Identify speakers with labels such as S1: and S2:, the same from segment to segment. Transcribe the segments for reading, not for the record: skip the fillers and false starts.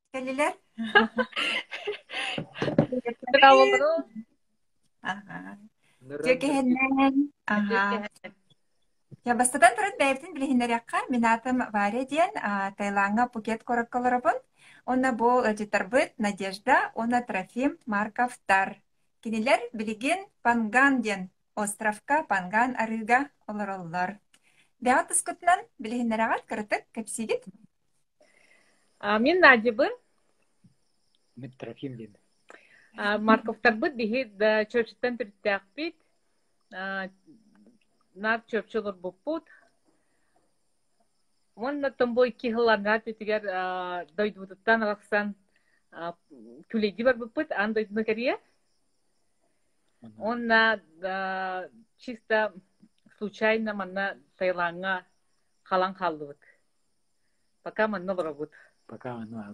S1: Келилер.
S2: Bravo.
S1: Ага.
S3: Нырандыр бит.
S1: Жекеһеннен. Ага. Я бастадан туран бәйбитин билиһиннерякка мен атым Варя диэн Таиланга Пукет кораккаларабын. Онна бу житарбыт Надежда, онна Трофим Марковтар. Кинилер билигин Панган диэн островка Панган арыга олороллар. Бәгат тускутнан билиһиннерагат кырытык кепсигит.
S2: Мен Надибы,
S3: Трофим ден.
S2: Марковтар быт бихи чөпчөттен түрттәк бит. Нар чөпчөлөр буппут. Онна томбой кихыланат битигер дойдутуттан алаксан күлейди бар буппут, ан дойдуна керия. Онна чисто случайно манна Таиланга халан халдыбыт. Пока манна барабыт.
S3: Пока оно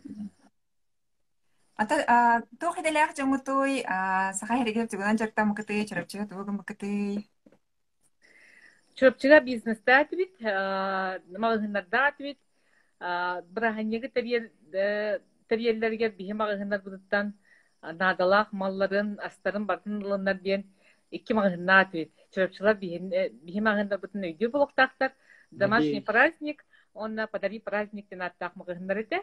S1: Ата тохиделях жомутуй саха херегеп жугунан жактам кыты чырапчыга тугум кыты.
S2: Чөпчіға бизнесті әтібет, мағығынларды әтібет, бірағынегі тәрелерге бейім мағығынлар бұдыттан надалақ малларын, астарын бартын ұлынлар бен 2 мағығынна әтібет. Чөпчілер бейім мағығынлар бұдын өйдеу болуқтақтар, домашний праздник, онна подари праздниктен аттақ мағығынлар еті.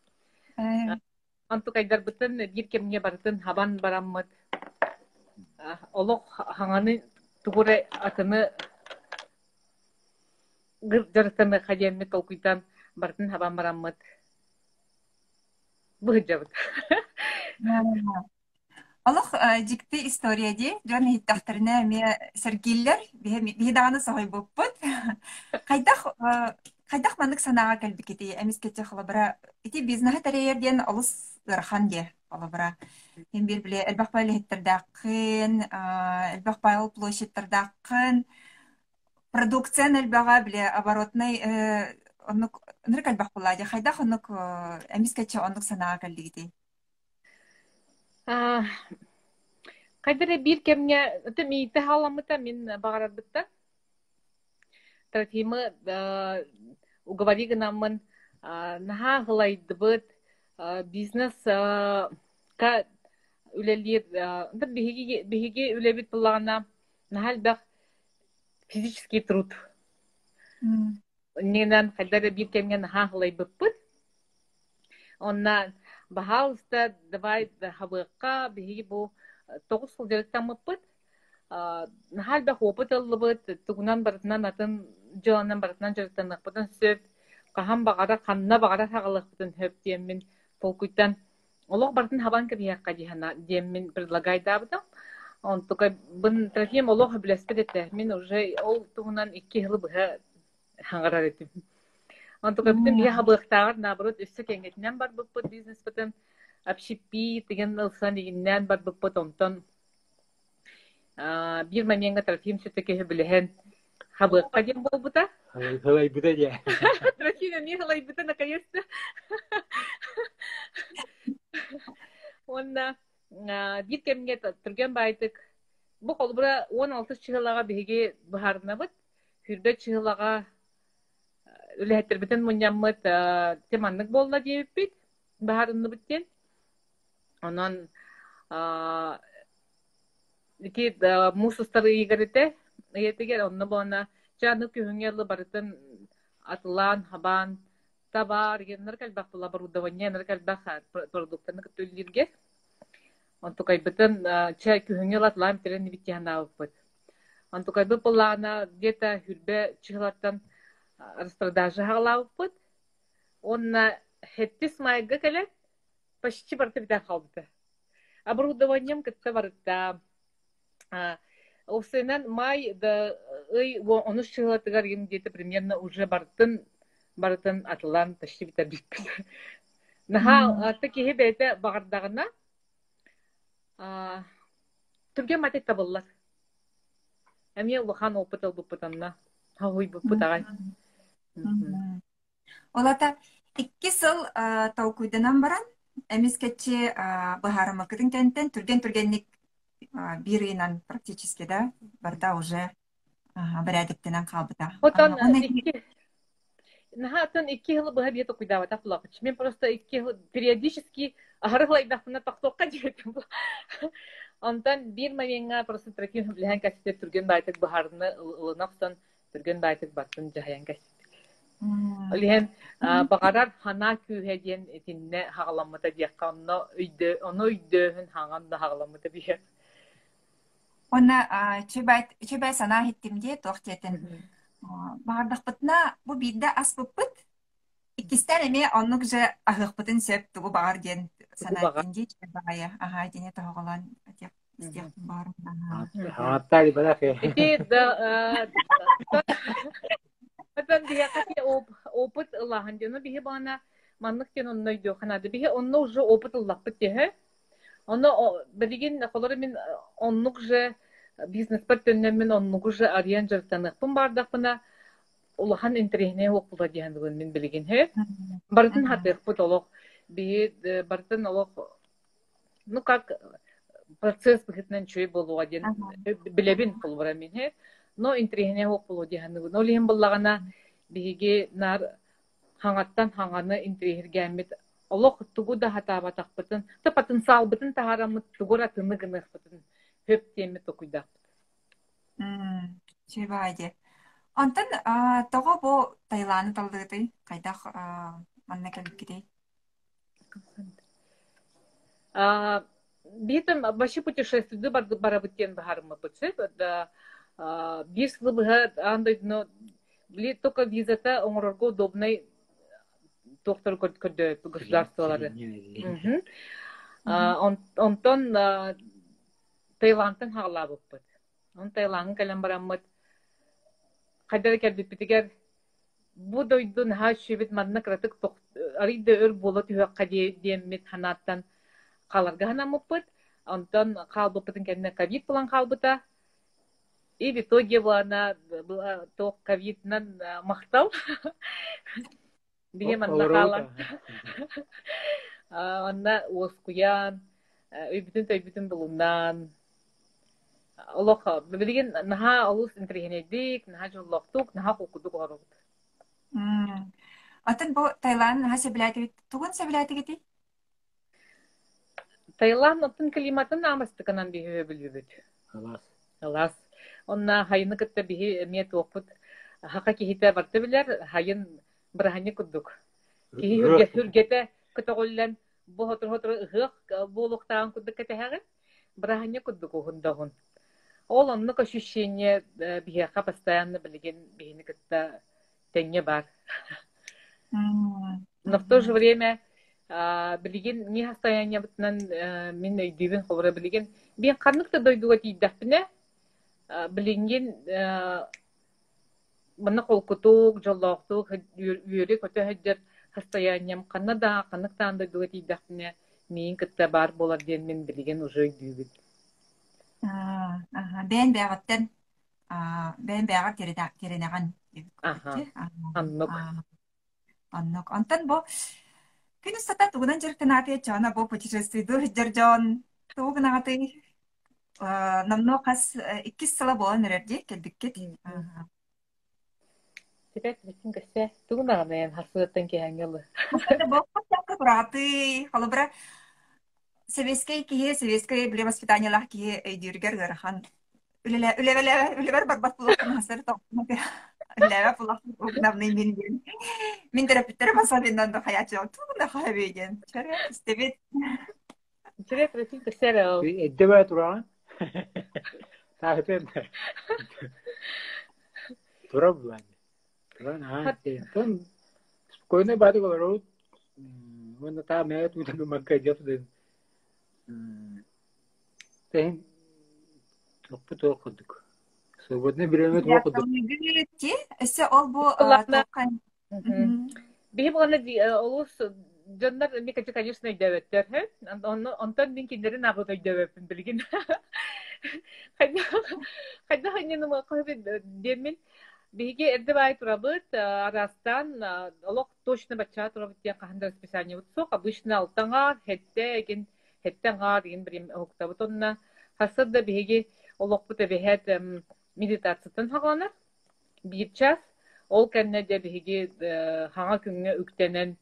S2: Анту қайдар бұтын бір кемге бартын хабан бараммыд. Олық хаңаны тұғыры атыны жарыстаны хадиянны толкуйтан бартын хабан бараммыд. Бұғы жабыд.
S1: Олох дикти история ди, жан хиттахтарына ме сергиллер, бихи дағаны сағай боппыт. Қайдақ мандық санаға кәлбі кетей, әміз кете қылабыра, ити бизнаға тәрейерден олыс ырхан де қылабыра. Мен бір біле, әлбақ байлы хеттердақын, әлбақ байлы площадьтардақын, продукциян әлбаға біле, оборотный, нұрық әлбақ болады, қайдақ онық әміз кете онық санаға кәлді кетей.
S2: Қайдары бір кемге, мейті халамыта мен бағарар бұтта. Трофимы уговори гынамын наха ғылайды бұд бизнес ка үлелер бігеге үлебет бұлағына наха әлбәқ физический труд. Ненен қайдары бір кемге наха ғылай бұд. Онна Бахалста давай хабыққа бігеге бұл 9 жыл жеріктен мұппыд. Нахалда опыт алыбыт, тугунан барытынан атын жыланан барытынан жарықтанық бұтын сөп, қахан бағара, қанына бағара сағылық бұтын хөп деймін толкуйттан. Олық барытын хабан кірияққа деймін предлагайда бұтым. Он только бын Трофим олық білеспед етті. Мен уже ол тугунан 2 жылы бұға хаңғарар етім. Он только бүтін бия хабықтағыр, наоборот, өссі кенгетінен бар бұппыт бизнес бұтын, общепит деген ылсан дегеннен бар бұппыт онтон. Bir моментga Трофим все-таки білген хабыққа дем бол бұта.
S3: Халай бұта де.
S2: Трофим не халай бұта наконец-то. Онда бір кемге түрген байтық. Бұл қолбыра 16 чығылаға беге бұхарына бұд. Хүрді чығылаға үләттір бітін мұняммыд теманлық болла дейіп бейт. Бұхарыны бұттен. Онан ити мусустары игерите, етегер онны бона жаны күһүңерлы барытын атылан, хабан, табар, геннер калбак була барудаванне, нер калбак продуктаны көтөллерге. Онтукай бытын ча күһүңел атылан терен битяна бут. Онтукай бу булана где-то хүрбе чыгылаттан распродажа хагалабыт. Онна хеттис майга келе почти барты битә халды. Оборудованием кытта барытта. Осынан май да оны чыгылатыгар где-то примерно уже бартын атылан почти битә бит. Наха таки бете багырдагына түрге матет табыллар. Әме улахан опытыл бупытанна. Хауй бупытагай.
S1: Олата 2 сыл таукуйданан баран, әмескетче бахарыма кытын кенттен түрген-түргенник биринан практически, да, барда уже барядыктенен қалбыта.
S2: Отан Нахатан 2 жыл быһа бие токуйдава таплапыч. Мен просто 2 жыл периодически ахарылайдахпына тохтоққа диетим. Онтан бир моменга просто Трофим билген кәсиптер түрген байтык бахарны ылынақсан түрген байтык баттын жаян кәсип. Олиһен багарар хана күйһеден этинне хагаламмыта диякка оны өйдөһүн хаңан да хагаламмыта бие.
S1: Онна чөбәй сана хиттимде тохтетен. Бардахпытна бу бидде аспыппыт. Икистен эме оннук же ахыхпытын сөп тугу багар ден санаттинди чөбәйя. Ага, дене тоголан деп истеп бар.
S3: Хаттари балафе.
S2: Ити да Atan bihe kati oput Allah'ın canı bihe bana manlık den onunla gidiyor kanadı bihe onunla ucu oput Allah bit diye. Onu bilgin kolları min onluk je biznes partnerler min onluk je arayan jartanık pun bardak bana Allah'ın interihne okula diyen min bilgin he. Bardın hatık bu doluk bihe bardın oluk ну как процесс бихтнен чөй болу аден билебин пулбара min he. Но интерихне окулу диһаны. Но лиһин буллагана биһиги нар хаңаттан хаңаны интерихиргәмит. Олох тугу да хатаба тахпытын. Та потенциал бытын таһарамыт тугура тыны гыныхпытын. Хөп теме токуйда.
S1: Чебайде. Антан тога бу Таиланд талдыты кайдах манна келип китей.
S2: Битым башы путешествие барабыттен бахарымы бытсы. Бир сылы быһа андай но били только визата оңорорго удобный доктор көрдө государстволары. Онтон Таиландтан хагалабыппыт. Он Таиландын калан бараммыт. Кайдара келбит битигер бу дойдун ха шебит манна кратык арыйда өр болот үөкка диэммит ханаттан каларга ханамыппыт. Онтон калбыппытын кенне ковид булан калбыта. И в итоге она то ковиднан махтал. Бием аннахала. Анна оскуян. Үбүтүн булунан. Олоха, билген наха алус интерхенедик, наха жоллоктук, наха кукудук орут.
S1: Атын бу Таиланд наха себилати тугун себилати гити?
S2: Таиланд атын климатын намастыканан бихе билбүт. Алас. Онна хайыны кытта бихи мет опут. Хака кихите барты билер, хайын брахани куддук. Кихи хүргете кытоголлан бу хотор ыгык болуктан куддук кетеһагы. Брахани куддук хундагын. Ол оннук ощущение бихиха постоянно билген бихини кытта тенге бар. Но в то же время билген не состояние бутнан мен өйдүбүн холора билген бен карныкта дойдуга тийдаппыне. Билинген мына колкутук, жоллоктук, үйөрү көтө хөҗҗәт состоянием Канада, каныктан да дуга тийдәхне мин кытта бар болар ден мен билген уже үйдүбүт.
S1: Бен бәгаттен бен бәгат теренеган. Аннок. Антан бу күнүстата тугунан жыртынаты чана бу путешествие dur жыржон тугунаты намно кас 2 сала болан эрди келдикке.
S2: Тепер битин кесе тугунаган хасыттан кеңгеле.
S1: Бу катка браты, халыбра советский биле воспитаниялар ки өйдүргөр гархан. Үлебер барбат булган хасыр топмак. Үлебер булган угнавны минген. Мин терапевттер басабындан да хаят жок. Тугунда хабеген. Чара истебет.
S2: Чара битин кесе.
S3: Эддебе туран. Сахтен. Турабан. Туран тон спокойно бады говорят. Он та меет у тебя макаджев ден. Тен топто ходук. Свободне время ходук.
S1: Эсе ол бу токкан.
S2: Бихи бана олус Жондар мекачы, конечно, дэвэттер, хэ? Онтон мен киндерин агыт өйдөбөпүн билген. Хайда ханьяныма кайбет демин биге эрде бай турабыт арастан олок точно бача турабыт я каханда расписание утсок обычно алтаңар хеттеңар ген бирим октабыт онна хасырда биге олок бут эбехет медитациятан хаганар 1 час ол кәнне де биһиги хаңа күнгө үктенен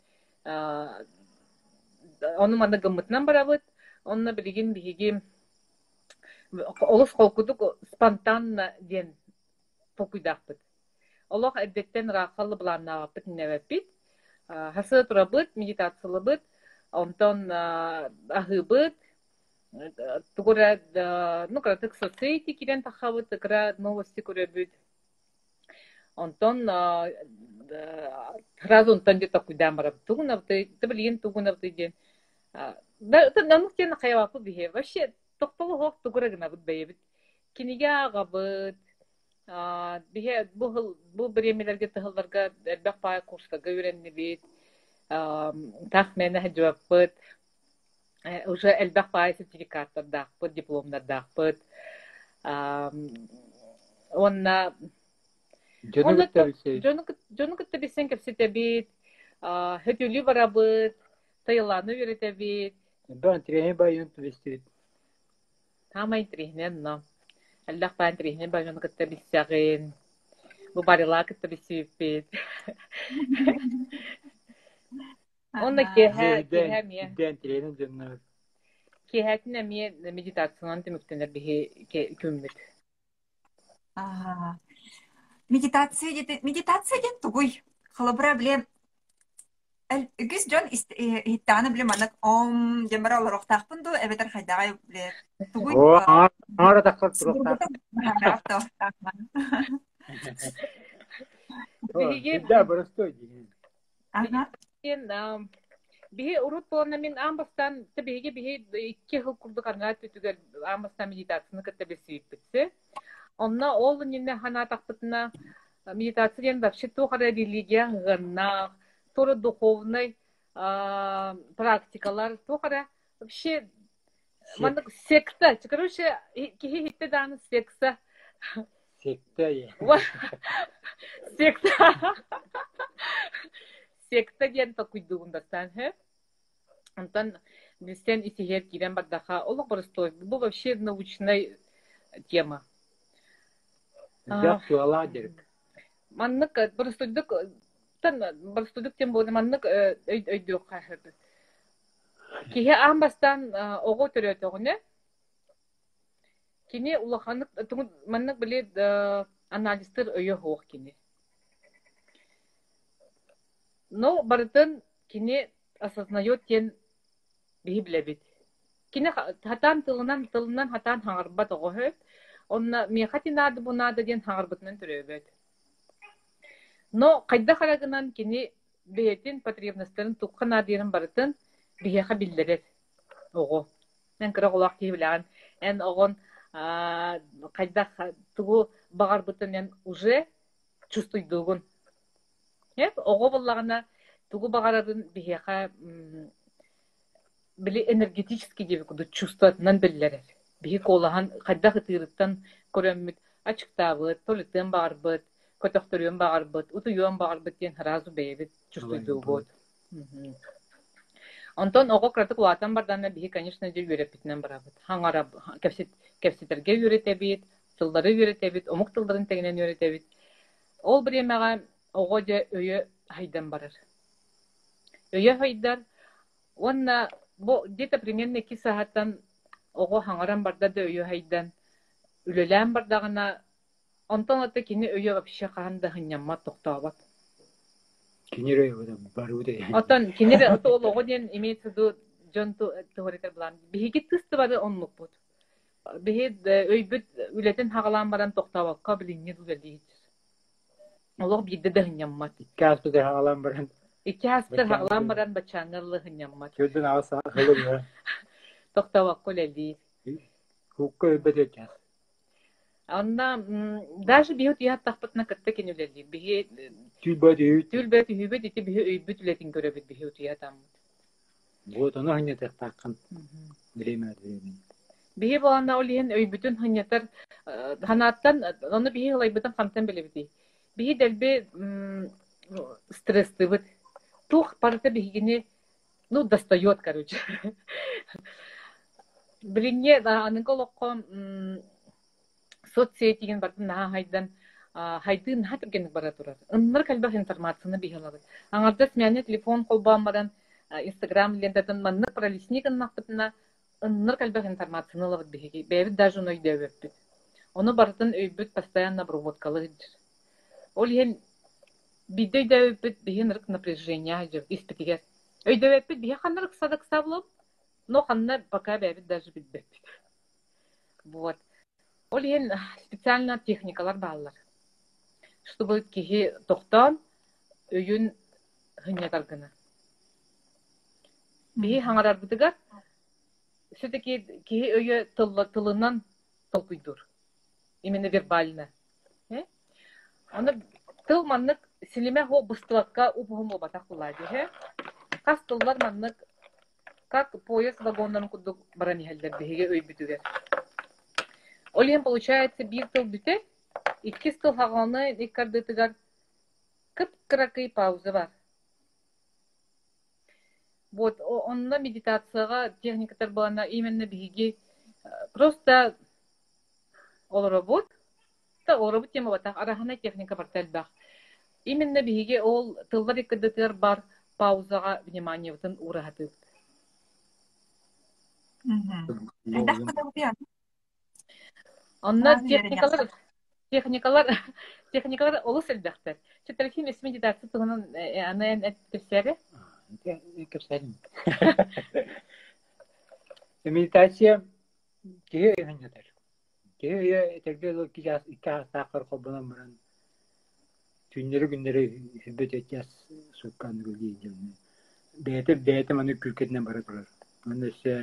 S2: оны манда гыммытынан барабыт, онна билигин биһиги олус холкудук спонтанно ден покуйдахпыт. Олох эддеттен рахаллы буланнабыт небеппит. Хасы турабыт, медитациялыбыт, онтон ахыбыт, тугура, ну, кратык соцсети кирен тахабыт, кра новости көрөбүт. Онтон сразу онтон где-то куйдан барабыт. Тугунабыты, ты билген тугунабыты ден. Это намуктен хайвапы бихе. Вообще, тоқтолу хоқ тугура гынабыт бейбит. Киниге агабыт. Бихе бу биремелерге тыгылларга элбек пай курстага үйреннибит. Тах мене хаджуаппыт. Уже элбек пай сертификаттар дақпыт, дипломдар дақпыт. Онна жонугытта бисен кепсетебит. Хөтүлү барабыт. Тайыланы үйретебит.
S3: Ben treni bayın tuvestit.
S2: Тамай трихнен, но. Элдах пайн трихнен бай жонугытта биссягын. Бу барила кытта биссиппит. Онна кеһә мие.
S3: Den trenin dönüyor.
S2: Кеһәтине мие медитациянан тимүктенер бихи күммит.
S1: Медитация ден тугуй. Халабыра биле үгіз жон иттаны білем анық ом демара оларықтақпын ду әбетер хайдағай біле тугуй.
S3: Ара тақсат тұрақтақ. Да, простой деген.
S2: Бихи урут болана мен амбастан бихиге бихи 2 жыл курдук аңат бүтүгөр амбастан медитацияны кытта бесип битсе. Онна ол нинне хана тақпытына медитациян вообще тухара религия гына, тура духовный практикалар, тухара вообще мандык секта, короче, кихи хитте даны секта.
S3: Секта я.
S2: Секта. Секта ден такуйдугундастан, хэ? Антон бистен исихер кирен бардаха, олог простой, бу вообще научная тема.
S3: Да, туаладерик.
S2: Маннык простойдук, простойдук тем болды, маннык өйдүк кахырды. Кихе амбастан ого төрөтөгүнө. Кини улаханнык, маннык билет анализтер өйө хоқ кини. Но бардын кини осознает тен библебит. Кини хатан тылынан хатан хаңарбат огохөп, онна мехати нады бу нады ден хаңарбытынан төрөбөт. Но кайда харагынан кини бейтин потребностьтарын туккан адырын бардын бихеха билдерет. Ого. Мен кыра голак кибилган. Эн огон кайда тугу багарбытын эн уже чувствуйдугун. Ого боллагана тугу багарарын бихеха били энергетически деп куду чувстватынан билдерет. Бихи колахан кайда хытырыттан көрөммүт ачыктабыт, толиттен багарбыт, көтөктөрүн багарбыт, утуюн багарбыт ден разу бейбит чувствуйдугут. Антон ого кратык улатан бардана бихи, конечно, же үйрөпитинен барабыт. Хаңара кепситерге үйрөтебит, тылдары үйрөтебит, омук тылдарын тегинен үйрөтебит. Ол биремага ого же өйө хайдан барыр. Өйө хайдар, онна бу где-то примерно 2 сааттан ого хаңаран барда да өйө хайдан, үлөлән бардагына, онтон аты кини өйө вообще каханда хыннямма токтообат.
S3: Кинере баруде.
S2: Отон кинере ото ол ого ден имеется ду жонту теоретер булан. Биһиги тысты бары онлук бут. Биһи өйбүт үлетен хагалан баран токтообакка билинне дулелди. Олог бидде да хынняммат.
S3: Каспыда хагалан баран.
S2: 2 хаспытар хагалан баран бачаңырлы хынняммат.
S3: Көдөн аса хылы.
S2: Токтообакка лелди.
S3: Хукка өбөтөчәс.
S2: Онна даже биһи яат тахпытна кытта кинүлелди. Биһи
S3: Түлбөт.
S2: түлбөт үйбөт ити биһи өйбүт үлетин көрөбүт биһи яатам.
S3: Вот оно хыня тактаккан. Время.
S2: Биһи болана олиен өйбүтүн хынятар ханаттан оны биһи лайбытан хамтан белебити. Биһи делбе стресстыбыт. Тух парта биһигини достает, короче. Билинне аныколокко соцсетиген бартын наха хайдан хайдын хатыргенник бара турар. Ыннар калбах информацияны бихалабы. Аңарда смене телефон колбамадан Инстаграм лентатын маннык пролистник ыннактыпна ыннар калбах информацияны лабыт бихиги. Бәбит даже уной дөбөппүт. Оны бартын өйбүт постоянно обработкалы. Ол ен бидей дөбөппүт бихин рык напряжение жер испитигер. Өйдөбөппүт бихи ханырык садык саблып, но ханна пока бәбит даже бидбөппүт. Вот. Ол ен специально техникалар баалар. Чтобы кихи тоқтан өйін хынятаргына. Бихи хаңарар бутыгар, все-таки кихи өйі тылынан толкуйдур. Именно вербально. Оны тыл маннык силиме хо быстылакка упухум обатак булади. Кас тыллар маннык как поезд вагондан кудук баранихелдер бихиге өй бүтүгер. Ол ен получается бир тыл бүтер, икки стыл хағаны иккардытыгар кып-кыракый пауза бар. Вот, онна медитацияға техникатар болана именно биги просто ол работ тема батақ, арахана техника бар тәлбақ. Именно биги ол тылдар иккардытыгар бар паузаға внимание вытын урахатып. Онна техникалар олыс әлбәқтер. Чөтәрхим ес медитация тұғынан анайын әттірсәрі?
S3: Кепсәрім. Медитация кеге өйгендер. Кеге өйгендер ол икки астақыр қолбынан бұрын түннері күннері хүбет өтяс сұққан күлді. Бәйті маны күлкетінен бары тұрар. Оны өсе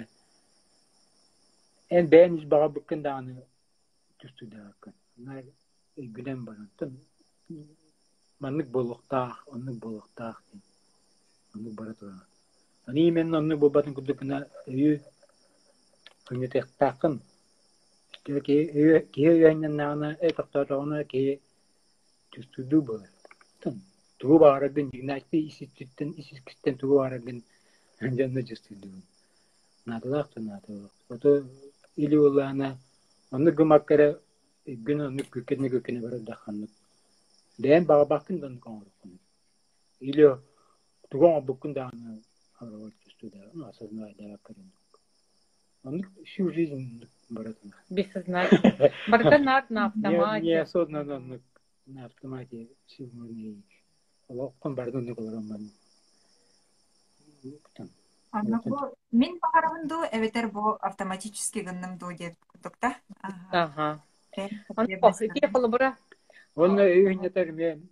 S3: ән бәйін үз баға бүккен дағаны түстуді ақын. Gülen barantın manlık boluqtaq, onluk boluqtaq deyim. Onluk barat oran. Ani men onluk bobatın kudukuna öyu hünyeteqtaqın. Ki öyu aynen nağına toqtaqtağına ki tüstüdü bolar. Tuğu bağıragın, jignastik isiskisten tuğu bağıragın canlı tüstüdü. Nadılaq. Oto ili olağına onluk gımakkara gün onluk kökene bara daqanlık. Değen bağa bakın da onluk anırıqın. İli tuğan bukun dağına ağrıvat tüstüdü. Onu asazına aydağa karın. Onluk şu жизнь baratın.
S2: Бессознательно. Барта на автомате.
S3: Не осознанно на автомате силмурный. Олоққын барды онлuk оларан барын.
S1: Мен бағарымынду, эветер бұл автоматически гыннымду деп күттікта.
S2: Ага. Ке қолы бұра?
S3: Оны өйінетер мен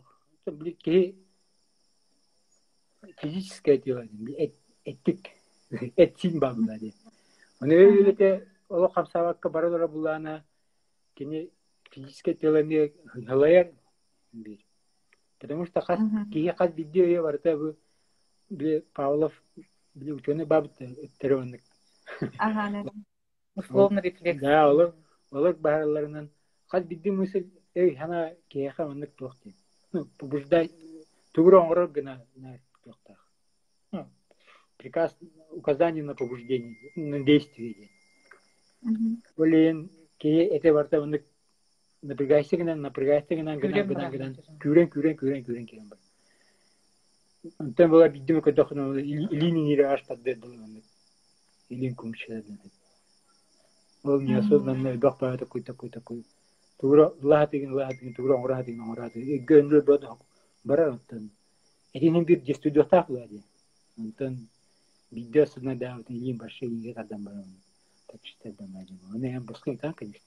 S3: физическое дело, эттік, этсин бағылады. Оны өйінете олы қамсаваққа барадыра бұлана кені физическое дело не ғылайар бер. Потому что кеге қаз бидде өйе барыта бұл Павлов ученый бабыты өттеріваннык.
S1: Ага, да.
S2: Условно рефлекс.
S3: Да, олар бағараларынан қаз бидде мысыл хана кеяқа маннык тоқты. Побуждай, тугру оңыры гына тоқтақ. Приказ, указание на побуждение, на действие. Олен кее эте барта маннык напрягайся гынан күрен керен бар. Антон была биддеме көтөкнө илини аштады дылган. Илин күмчелерден. Ол неосознанно бакпа такой. Тугра лахатыгын тугра оратыгын. Гөнлө бөдө бара антон. Элинин бир студия таклады. Антон бидде сына да илин башы илге адам бар. Так читадан мажы. Аны ям баскын так, конечно.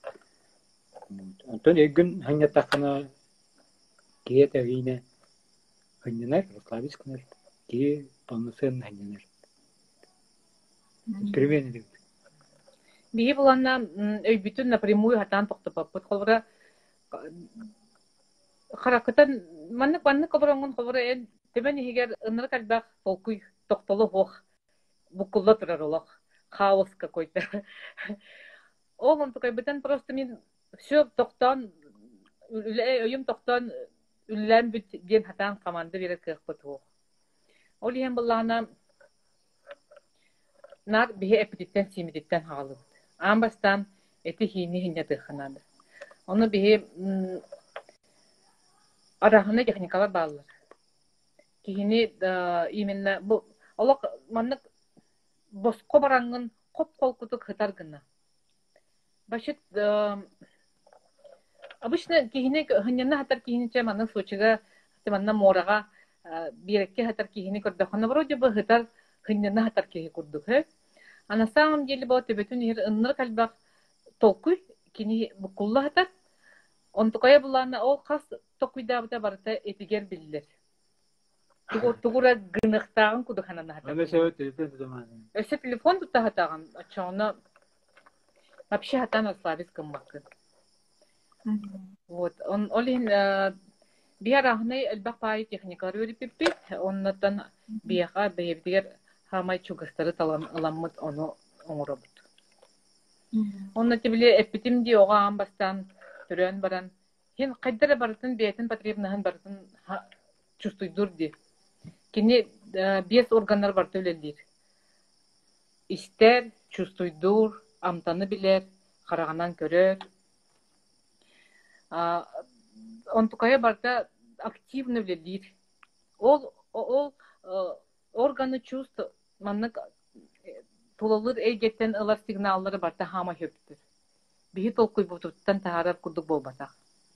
S3: Антон эгүн ханья такына киете вине ханьянар, расслабисканар, ки полноценно ханьянар. Эксперимент.
S2: Бии буланна өйбүтүн напрямую хатан токтопаппыт колбура харакытан маннык колбурангон колбура эн темен егер ыныр калбак толкуй токтолу хох букулла турар олох хаос какой-то. Олон такой бытан просто мен все токтан өйүм токтан үллән бит ден хатан команда берет кыхпыту. Ол ем буллана нар бие эпидиттен симидиттен хаалып. Амбастан эти хини хинятыханады. Оны бие арахына техникалар баллар. Кихини именно бу олок маннык боско барангын коп колкутук хытар гына. Башыт обычно кихини хыннана хатар кихиниче маннык случайга манна морага бирекке хатар кихини көрдөхөна вроде бы хытар хыннана хатар кихи курдук. А на самом деле бо төбөтүн ир ынныр калбак толкуй кини букулла хатар. Он такая булана ол хас токуйдабыта барыта эпигер биллер. Тугура гынықтағын кудуханана хатар.
S3: Аны сөйт телефон тутаман.
S2: Өсө телефон тута хатаган, ачоно вообще хатан ослабис кыммакы. Вот, он олин биарахны элбак пай техникалар өриппит, оннотан бияга бейбдигер хамай чугастары талан аламмыт ону оңоробут. Онна тибиле эпитим ди ога амбастан түрөн баран. Хин кайдара барытын бейтин потребнаһын барытын чувствуйдур ди. Кини бес органнар бар төлелдир. Истер, чувствуйдур, амтаны билер, караганан көрөр. Он тукая барда активно билер. Ол органы чувств маннык тулалыр эйгеттен ылар сигналлары барда хама хөптүр. Бихи толкуй бутуттан тахарар курдук болбасак.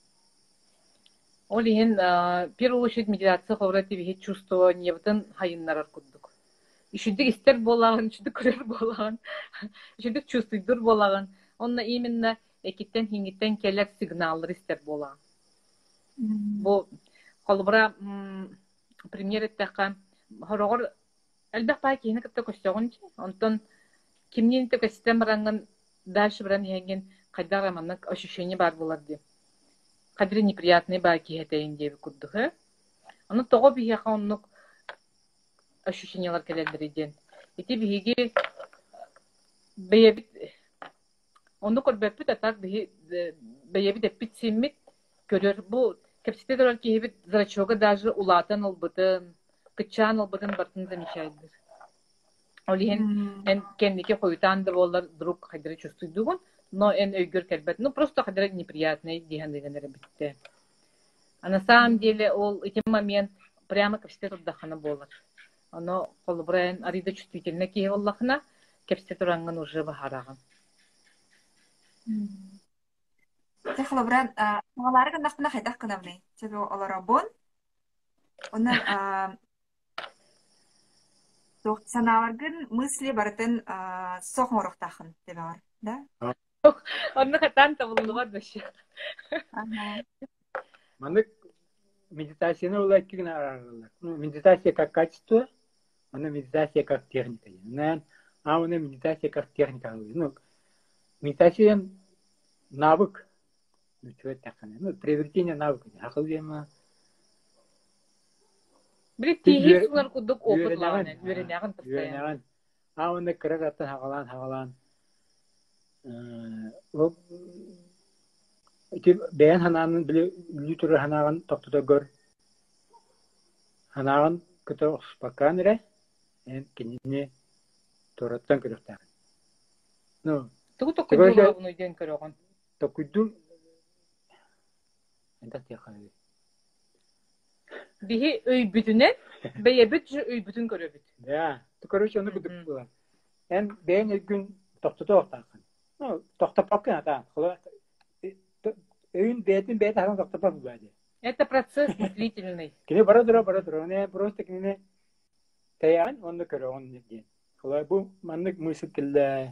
S2: Ол иһин первую очередь медитация ховрати бихи чувствованиебытын хайыннарар курдук. Ишүдүк истер болагын, ишүдүк көрөр болагын, ишүдүк чувствуйдур болагын. Онна именно экиттен хиңиттен келер сигналлар истер болагын. Бу колбура пример эттака хорогор элбек бай кийини кытта көстөгүнчү. Онтон кимнин текестен баранган дальше баран хенген кайдара маннык ощущение бар болар ди. Кадри неприятный бай киетейин деп курдук. Аны того бие ханнык ощущениялар келелдер иден. Ити биги бейбит ону көрбөпүт атар бейбит эпит симмит көрөр бу кепситедер киебит зрачога даже улатан албытын, кычан албытын бартын замечайдыр. Олин эн кендике койтан да болар друг кадри чувствуйдугун, но эн өйгөр келбет. Ну просто кадри неприятный дигендегенер битте. А на самом деле ол эти момент прямо кепсите турдахана болар. Оно колбрен арида чувствительна кие Аллахна кепсите туранган уже бахараган.
S1: Техлобран маларга нахна хайдах кынамны. Тебе оларабон. Онан саналаргын мысли бартын сохморохтахын тебе бар, да?
S2: Онны хатан табылыгар беши.
S3: Маннык медитацияны улайт кигин арарлар. Медитация как качество, она медитация как техника. Она медитация как техника. Медитация навык. Приобретение навыка.
S2: Бритти сулар кудук опытлаган, үйреняган постоянно.
S3: Оны кырагаттан хагалан. Бәйән хананын білі түрі ханаған тоқтыда гөр. Ханаған күті ұқспаққан әрі, ән кеніне тұраттан көріқтағын.
S2: Тұғы тоқыдуға ұны үйден көріған?
S3: Тоқыду... Әнді тияқаны.
S2: Бихи өй бүтінен, бәйе бүт жы өй бүтін көрі бүт.
S3: Да, көріш оны күдік бұлар. Ән бәйән өйгін тоқтыда оқтақын. Тоқтапақын ата. Өйін бәйтін ағын тоқтапақ бұлады.
S2: Это процесс мыслительный.
S3: Кене бара тұра. Просто кене таяғын, онды көрі, онды ден. Бұл маннык мысыл келді,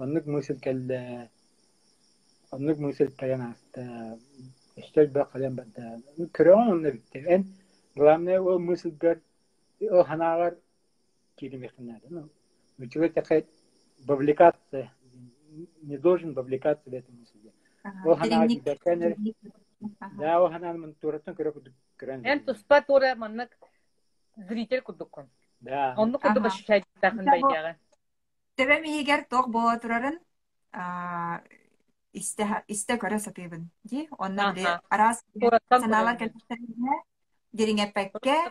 S3: оннык мысыл таян асты. Эштер бір қален бәді. Көрі онды бітті. Ән, главное, ол мысыл гөр, ол ханағар керемекінады. Человек такая вовлекаться, не должен вовлекаться в эту мысль. Да, ол ханан мен тураттан көрө көрөн.
S2: Эн туспа тура маннык зритель кудуккон.
S3: Да.
S2: Онну куду башчай тахын байдагы.
S1: Тебе мигер тох бо турарын исте көрө сатыбын. Ди, онна бир арас саналар келтерне диринге пекке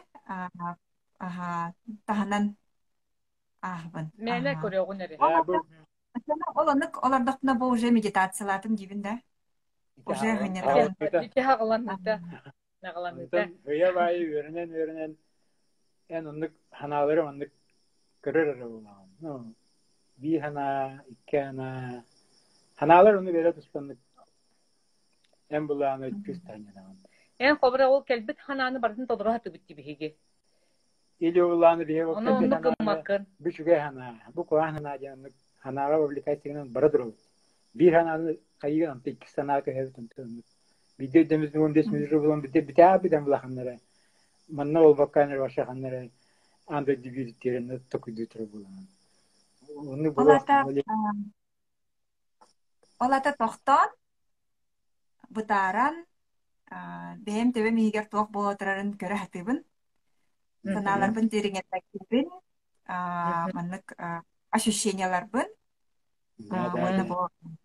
S1: таханан ахбын.
S2: Мене көрөгүн эре.
S1: Ол онык олардакна бу уже медитациялатын дибин да. Уже гынерген.
S2: Ити хагалан да. Нағаламыта.
S3: Hıya bayı öğrenen en onluk hanaları onluk kırır olan. No. Bir hana, iki hana. Hanalar onu böyle tutsanlık. En bulağını küs tane.
S2: En kobra ol kelbet hananı barın todura hatı bitti bihigi.
S3: İli oğlanı diye
S2: Onu
S3: bakın bir
S2: onu
S3: hana.
S2: kımmakın.
S3: Bir şüge hana. Bu kovan hana canlık. Hanalar oblikasyonan baradır olur. Bir hananı kayıgan antı iki sana kahve tanıtım. Bir de demizin 15 milyon bulan bir daha bir de bulakanlara. Manna ol bakanlar başakanlara. Anda dibirtlerine tokuydutur bulan. Onu
S1: Олата
S3: böyle
S1: олата тохтон бутаран бэм төбө мигер туох болотурарын көрө хатыбын. Санааларбын тереңеттекибин маннык ощущенияларбын. Оны бо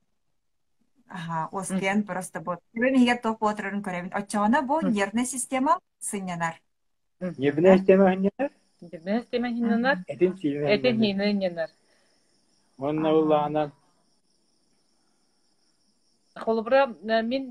S1: оскен просто бо төбө мигер туох болотурарын көрөбүн. Очоона бу нервный система сынянар.
S3: Небine istemeyinler,
S2: Дебнес теме хиннар.
S3: etin çiğne.
S2: Этен хиннар.
S3: Onun Allah'ından
S2: Холбра мин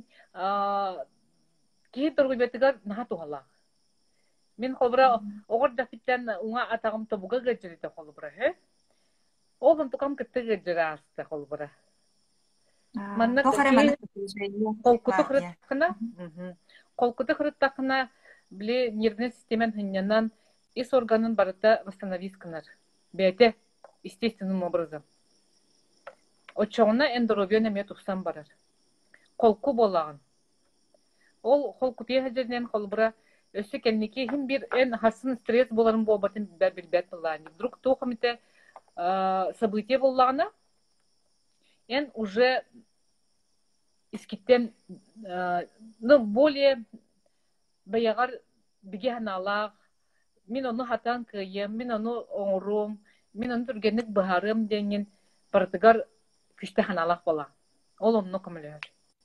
S2: ки торгубетигар наха тухала. Мин холбра огор дафиттен уңа атагым тобуга гыжырыта холбра хе. Олун тукам кытты гыжыраста холбра. Манна колкуты хырыттакына. Колкуты хырыттакына биле нервный системен хиннянан ис органын барыта восстановисканар. Бете естественным образом. Очоғына эндоровия неме тухсан барар. Колку болағын. Ол колку тейхәжерінен қолбыра өсі кәннеке хим бір эн хасын стресс боларын болбатын білбәт болағын. Вдруг тухамите событие болағына эн уже искиттен более баяғар біге ханалақ, мен оны хатан күйем, мен оны оңырым, мен оны түргенік бұхарым денген бардығар күшті ханалақ бола. Ол оны көмілер.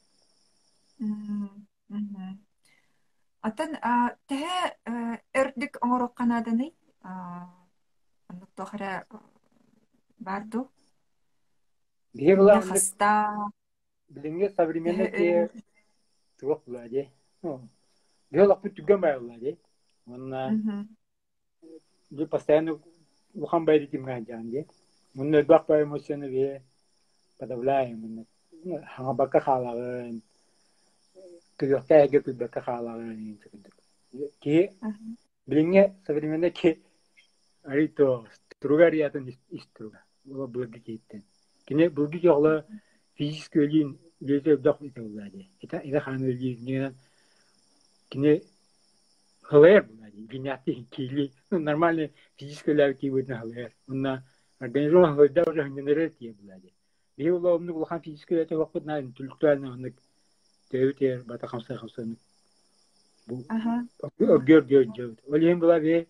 S1: Атын тәе өрдік оңырық қанадыны анық тоқыра барду.
S3: diye bulan
S1: Хаста.
S3: bilinge savrimenle ki tuğuk buladı. Diyor lak bu tüggen bayıladı. Onunla bir pastanı bukan baydı kim gancandı. Bunun bak bay emosyonu ve padavlayım bunun. Hanga bakka xalağın. Kıyokta ege bakka xalağın. Ki bilinge savrimenle ki arito trugariyatın istruga. Bu bulgi gittin. Kine bulgi yoğla fizik ölüyün gece dak italladı. İta xan ölüyün kine halayar buladı. Ginyati kili normalde fizik ölüyün ki bu halayar. Onunla organizma halayda var hıngenere diye buladı. Bir yolla onu bulan fizik ölüyün vakit narin tülüklerine onu tevter bata kamsa bu gör. Öyle bula ve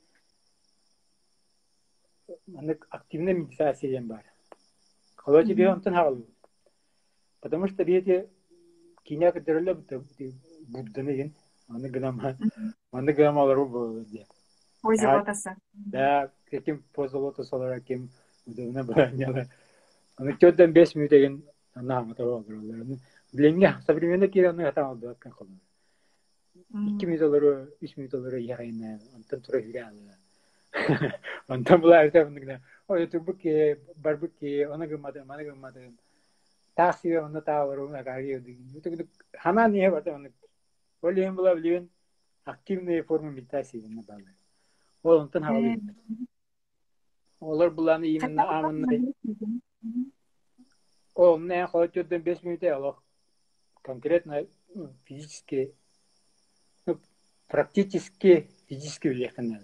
S3: anlık aktifne meditasyon var. Колочи би онтон хавал. Потому что бете киня кадерле будданы аны гнам алар бу де.
S1: Позолотасы.
S3: Да, каким позолотос олар ким удобно баняла. Аны чөддөн 5 минут деген ана матава олар. Бленге современный кираны хата алды акан кол. 2 минут олар 3 минут олар ягайна онтон тура хиралы. Онтон булар да Oye, tu buki, barbuki, ona gumada, mana gumada. Taksi ona tawar ona kari. Itu hana niye var ona. Oye, hem bulabiliyorsun. Aktifne formu meditasi ne bağlı. O ondan havalı. Olur bulanı yeminle amınla. O ne koçudan 5 minute alır. Конкретно физически, практически физически влияние.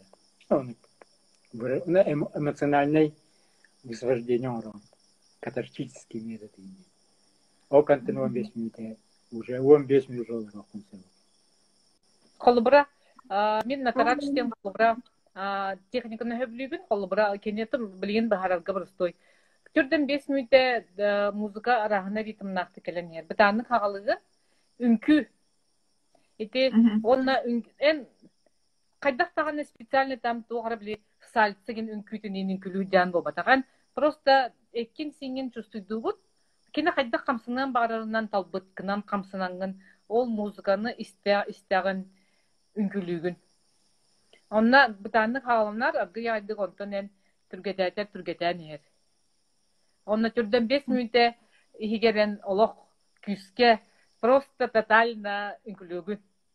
S3: На эмоциональное высвобождение урона. Катарсический метод. О контент 15 минут. Уже 15 минут долларов.
S2: Холбра, мен натарат штем холбра, техниканы хөблүбүн холбра, кенетим билген бахаралга бұрыстой. Түрден 5 минутте музыка арахына ритм нақты келен ер. Бітанның қағалығы үнкі. Ете, онна эн қайдақ тағаны специальный там тоғара біле сальцыген үнкүйтінен үнкілуден болбатаған. Просто эккен сенген чувствуйду бұд. Кені қайдақ қамсынан бағарынан талбыткынан қамсынанған ол музыканы истяғын үңкүлүүгүн. Онна бытаннык хаалымнар аргы яйдык онтон эн түргетään иһэр. Онна түрдөн 5 минуте ихигерен олох күскэ просто тотально үңкүлүүгүн.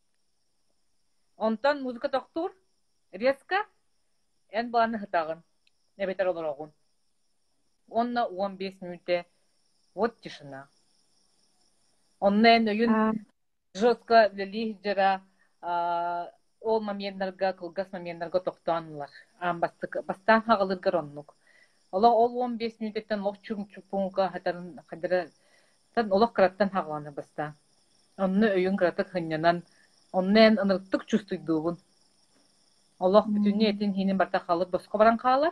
S2: Онтон музыка тохтур резко эн бааны хытагын. Небетер олорогун. Онна 15 минуте вот тишина. Онна эн өйүн жестко лихжера ол моменттарга, кылгас моменттарга тохтоанлар. Бастан хагалыргар оннук. Ол 15 минуттан лох чуңчупунга хатарын кадыра тан олох караттан хагаланы баста. Онны өйүн каратык хыннанан оннен ынырттык чувствуйдугун. Олох бүтүнне этин хинин барта халып боско баран калар.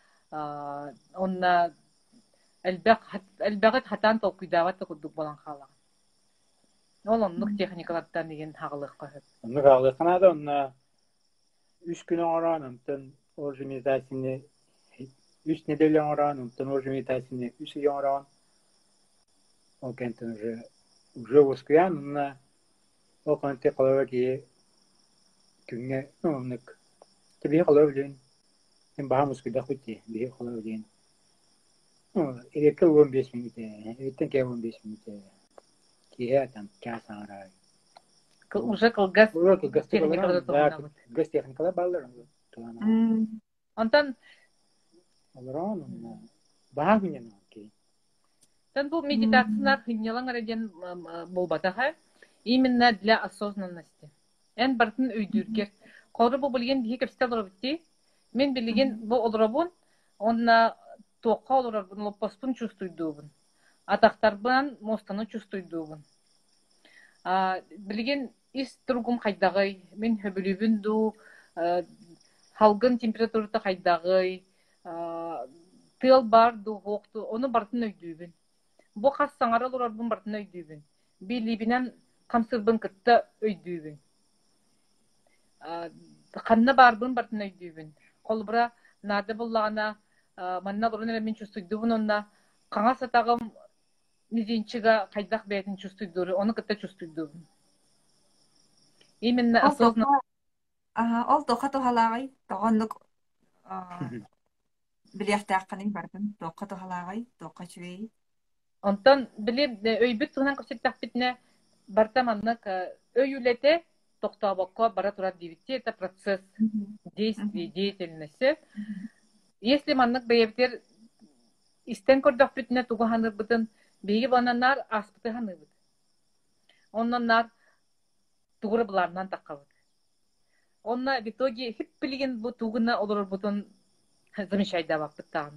S2: Онна элбагат хатан толкуйдават кудук балан калар. Ол оннук техникалардан деген хагалык кахып.
S3: Онны хагалыкына да онна 3 күн оранымтын организацияны 3 неделя оранымтын организацияны 3 ай оран. Ол кентен уже воскуян онна ол канте калаваки күнгө оннук тебе калавлен мен баамыз кыда хути бие калавлен. Элекке 15 минут эттен ке 15 минут кие там час ара.
S2: Уже кылгас
S3: газ техникалар баллар.
S2: Онтон
S3: Олорон баагынен ки.
S2: тан бу медитациялар хыннялан араден болбатаха именно для осознанности. Эн бартын өйдүргер. Коры бу билген бии кепстел робити. Мен билген бу олробун онна тоққа олорбун лоппаспун чувствуйдугун. Атактарбан мостаны чувствуйдугун. Билген ис тургум кайдагы мен хөбүлүбүн ду халгын температурата кайдагы тыл бар ду хокту оны бартын өйдүбүн. Бу хас саңара олорбун бартын өйдүбүн. Билибинен камсырбын кытта өйдүбүн. Канна барбын бартын өйдүбүн. Колбура нады буллагана манна бурун мен чувствуйдугун онна каңа сатагым мизинчига кайдак бетин чувствуйдугун, оны кытта чувствуйдугун. Именно осознанно.
S1: Ол тоқа тухалагай тогонлук билехтаакканын бардым. Тоқа тухалагай, тоқа чүгей.
S2: Онтон билим өйбүт тугунан көрсөттөкпүтүнө бартаманнык өйүлете токтообокко бара турат дибитти. Это процесс действий, деятельности. Если маннык бейбитер истен көрдөкпүтүнө тугуханырбытын биги бананар аспытыханыбыт. Оннанар тугуры буларынан таккабыт. Онна в итоге хип билген бу тугуна олорбутун замечайда баппыттан.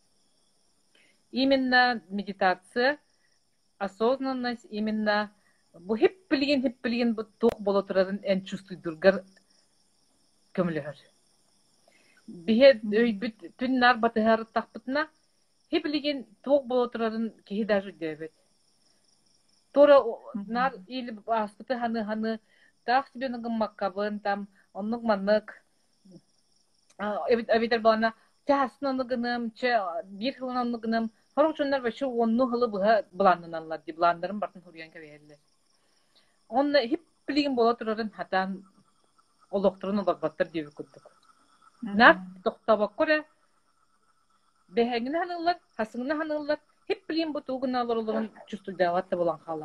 S2: Именно медитация, осознанность, именно бу хип билген бу тук боло турарын эн чувствуйдургар көмөлөр. Бие өйбүт түннар батыгар такпытына хип билген тук боло турарын кихи даже дебет. Тора нар или аспыты ханы так себе нагым маккабын там оннук маннык эбитер балана тяснанныгыным че бир хылынанныгыным хоручундар башы онну хылы быга буланнаналар ди буландарын бартын хурган кебелер. Онны хип билген боло турарын хатан олоктурун олорбаттар деп күттүк. Нар токтабак көре бехеңин ханылар, хасыңын ханылар хип билген бу тугуна олорлугун чувствуйдаватта болан кала.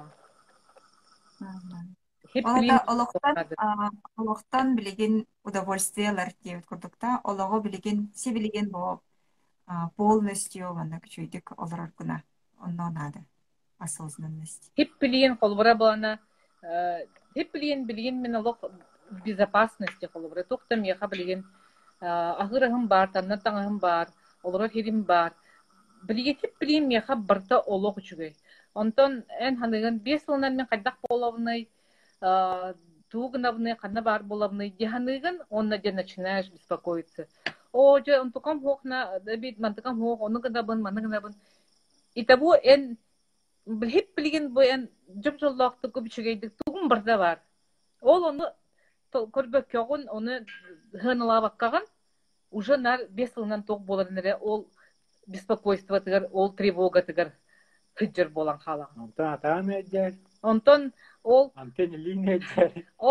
S1: Олоқтан билеген удовольствиялар деп көрдүктө, олого билеген, се билеген бо полностью вана күчөйдүк олорор гына. Онно надо осознанность.
S2: Хип билген колбура балана, хип билген мен олог безопасности колбура. Токтам яха билген агырыгым бар, таннатаңым бар, олорор хирим бар. Билген хип билген яха барта олог үчүгөй. Онтон эн ханыгын 5 жылдан мен кайдак болобуны тугнавны канна бар болобуны диханыгын онна де начинаешь беспокоиться. О, же он тукам хокна, бит мантыкам хок, оны гынабын, маны гынабын. И того эн хип билген бу эн жомжоллокты көбүчөгөйдүк тугун барда бар. Ол оны көрбөк көгүн, оны хыныла баккаган уже нар 5 жылдан ток боларыны ол беспокойство тыгар, ол тревога тыгар. Хыджыр болан халан.
S3: Онтон атам эдер.
S2: Онтон ол
S3: Антен линия эдер.
S2: ол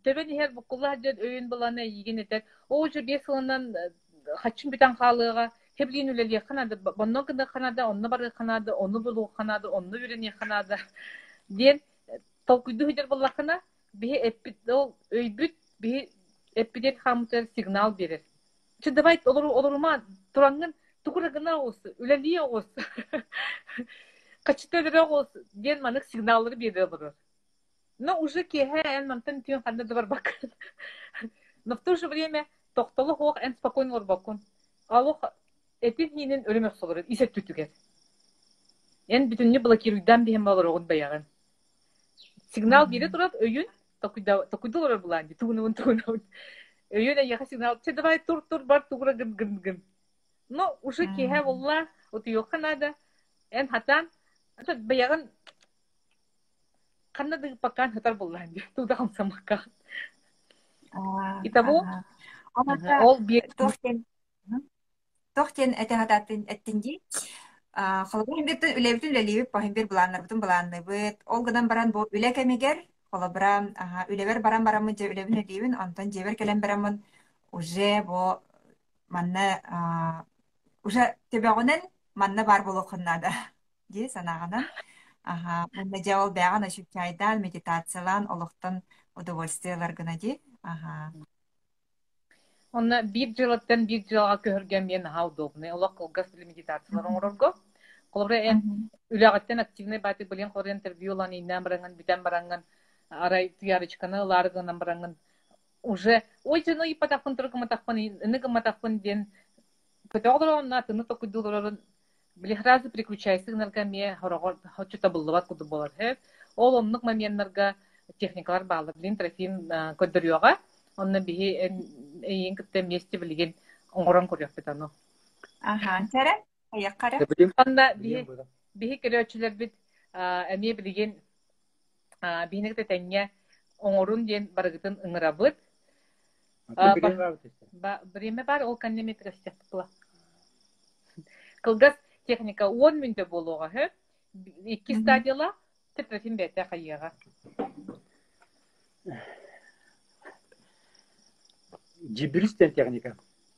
S2: Töben her bukullar jön öýün bulana ýigin etek. O je 5 ýylyndan haçyn bitan halyga heblin üleli Kanada, bonno gında Kanada, onno bar Kanada, onu bulu Kanada, onu üreni Kanada. Diyen tolkuydu hüjer bullakana bir epit ol öýbüt bir epidem hamter signal berer. Çıdabait olurma turangın tukuragına olsun, üleliye olsun. Kaçıtları olsun diyen manık signalları berer olur. Но уже кеһен мантан тион ханда да бар бак. Но в то же время тохтолы хох эн спокойно бар бакун. Алох этин хинин ölümek solur. Исет түтүгер. Эн бүтүннү блокируйдан бем балар огун баяган. Сигнал бире турат өйүн токуйдалар буланди. Тугунун. Өйүн яха сигнал. Че давай тур бар тугра гын. Но уже кеһе волла от йоханада эн хатан баяган Kanada pakan hatar bulan dia. Tu dah sama kan. Itabu. All bir
S1: Тохтен это хататын эттинги. Холобун бит үлебитин үлелип пахин бир буланнар бутун буланны бит. Ол гынан баран бу үле кемигер. Холобрам үлебер баран мы же үлебин үлебин антон жебер келен барамын уже бу манна уже тебегонен манна бар болохуннада. Ди санагана. Манна жавал бяган ашукайдан медитациялан олохтан удовольствиялар гына ди.
S2: Онна bir жылга көргөн мен хаудовны. Олох колгас медитациялар оңорго. Колбра эн үлөгөттен активный баты билен кор интервьюлан иннен баранган битен баранган арай тиярычканы ларгынан баранган уже ой жено и патафын тургы матафын ныгы матафын ден петогро на тыны токудулорун Билихразы приключайсы наргаме хорогор хочута буллабат куду болар хеп. Ол оннук моментнарга техникалар баалар билин трофим көдөрүөгө. Онна бихи эйин кытта месте билген оңорон көрөп бетану.
S1: Тәрә, аяккара.
S2: Онда бихи көрөчүлөр бит эме билген бихинекте теңге оңорун ден барыгытын ыңырабыт. Биреме бар ол канеметрес тепла. Кылгас техника 10 минут болуға, хэ? 2 стадияла тетрафин бәтә қайыға.
S3: Жибристен техника.